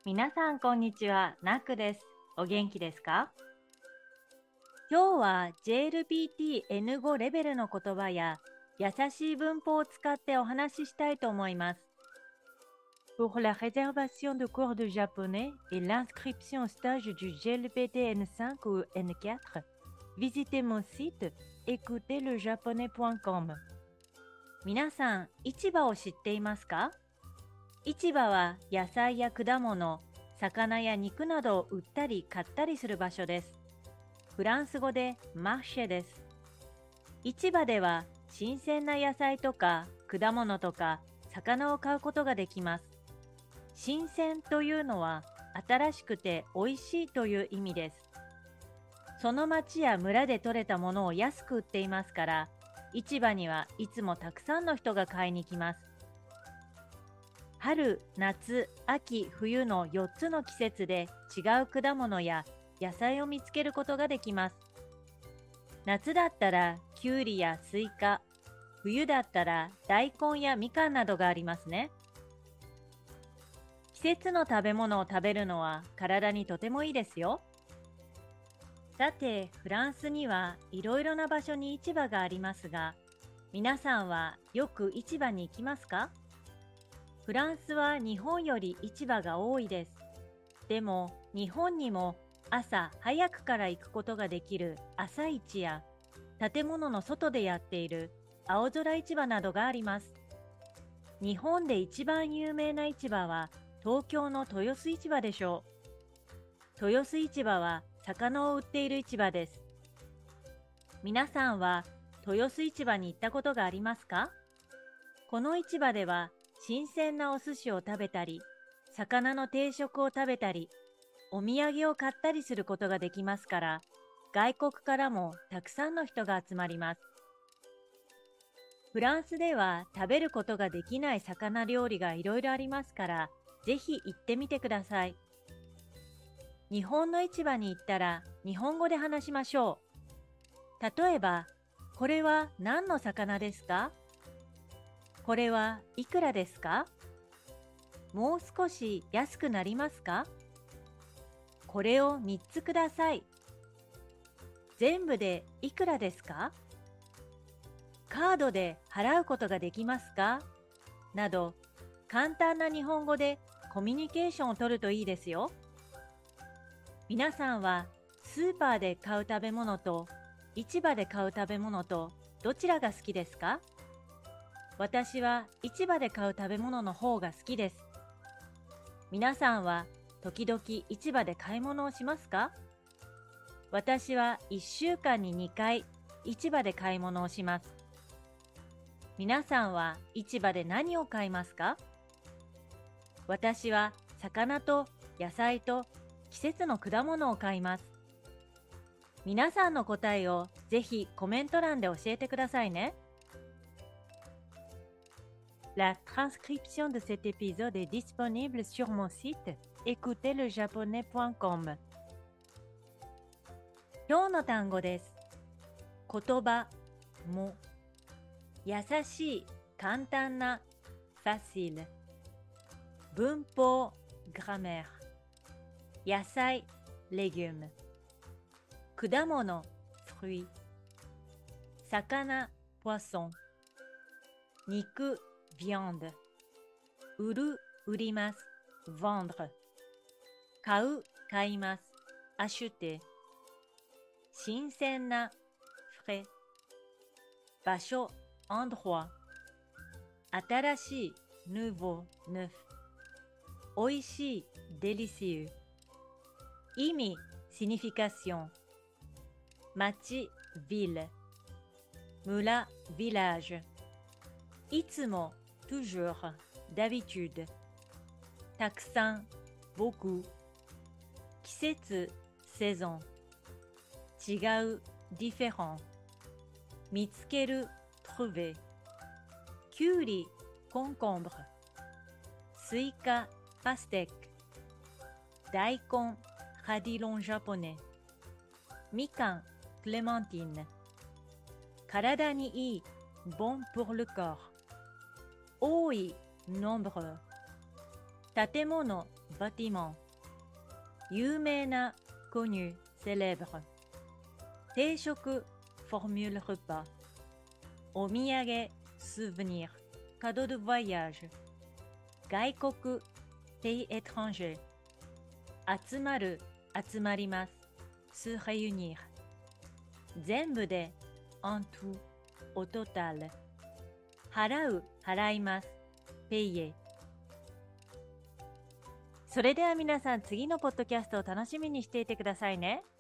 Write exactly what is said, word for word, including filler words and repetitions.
皆さんこんにちは、ナックです。お元気ですか？今日は ジェーエルピーティーエヌファイブ レベルの言葉や優しい文法を使ってお話ししたいと思います。Pour la réservation de cours de japonais et l'inscription au stage duジェーエルピーティーエヌファイブ ou エヌフォー、visitez mon site écoutez le japonais point com。皆さん、市場を知っていますか？市場は野菜や果物、魚や肉などを売ったり買ったりする場所です。フランス語でマーシェです。市場では新鮮な野菜とか果物とか魚を買うことができます。新鮮というのは新しくて美味しいという意味です。その町や村で採れたものを安く売っていますから、市場にはいつもたくさんの人が買いに来ます。春、夏、秋、冬のよっつの季節で違う果物や野菜を見つけることができます。夏だったらきゅうりやスイカ、冬だったら大根やみかんなどがありますね。季節の食べ物を食べるのは体にとてもいいですよ。さて、フランスにはいろいろな場所に市場がありますが、皆さんはよく市場に行きますか？フランスは日本より市場が多いです。でも、日本にも朝早くから行くことができる朝市や、建物の外でやっている青空市場などがあります。日本で一番有名な市場は東京の豊洲市場でしょう。豊洲市場は魚を売っている市場です。皆さんは豊洲市場に行ったことがありますか？この市場では新鮮なお寿司を食べたり、魚の定食を食べたり、お土産を買ったりすることができますから、外国からもたくさんの人が集まります。フランスでは食べることができない魚料理がいろいろありますから、ぜひ行ってみてください。日本の市場に行ったら日本語で話しましょう。例えば、これは何の魚ですか？これはいくらですか？もう少し安くなりますか？これをみっつください。全部でいくらですか？カードで払うことができますか？など、簡単な日本語でコミュニケーションを取るといいですよ。皆さんはスーパーで買う食べ物と市場で買う食べ物とどちらが好きですか？私は市場で買う食べ物の方が好きです。皆さんは時々市場で買い物をしますか？私はいっしゅうかんににかい市場で買い物をします。皆さんは市場で何を買いますか？私は魚と野菜と季節の果物を買います。皆さんの答えをぜひコメント欄で教えてくださいね。La transcription de cet épisode est disponible sur mon site écoutez le japonais point com。 今日の単語です。言葉、も、優しい、簡単な、facile。文法、grammaire。野菜、légumes。果物、fruits。魚、poisson。肉、viande。売る、売ります。vendre。買う、買います。acheter。新鮮な、frais。場所、endroit。新しい、nouveau、neuf。おいしい、délicieux。意味、signification。町、ville。村、village。いつも、toujours、d'habitude。たくさん、beaucoup。季節、saison。違う、différent。見つける、trouver。きゅうり、concombre。スイカ、パステック。大根、radillon japonais。みかん、clémentine。体にいい、bon pour le corps。多い、nombreux。 建物、バティモン。有名な、コニュ、セレブル。定食、フォーミュル・ルパ。お土産、スーヴニー、カド・ドゥ・ヴォヤージュ。外国、ペイ・エトランジェ。集まる、集まります。ス・レユニー。全部で、en tout、au total。払う、払います。ペイエ。それでは皆さん、次のポッドキャストを楽しみにしていてくださいね。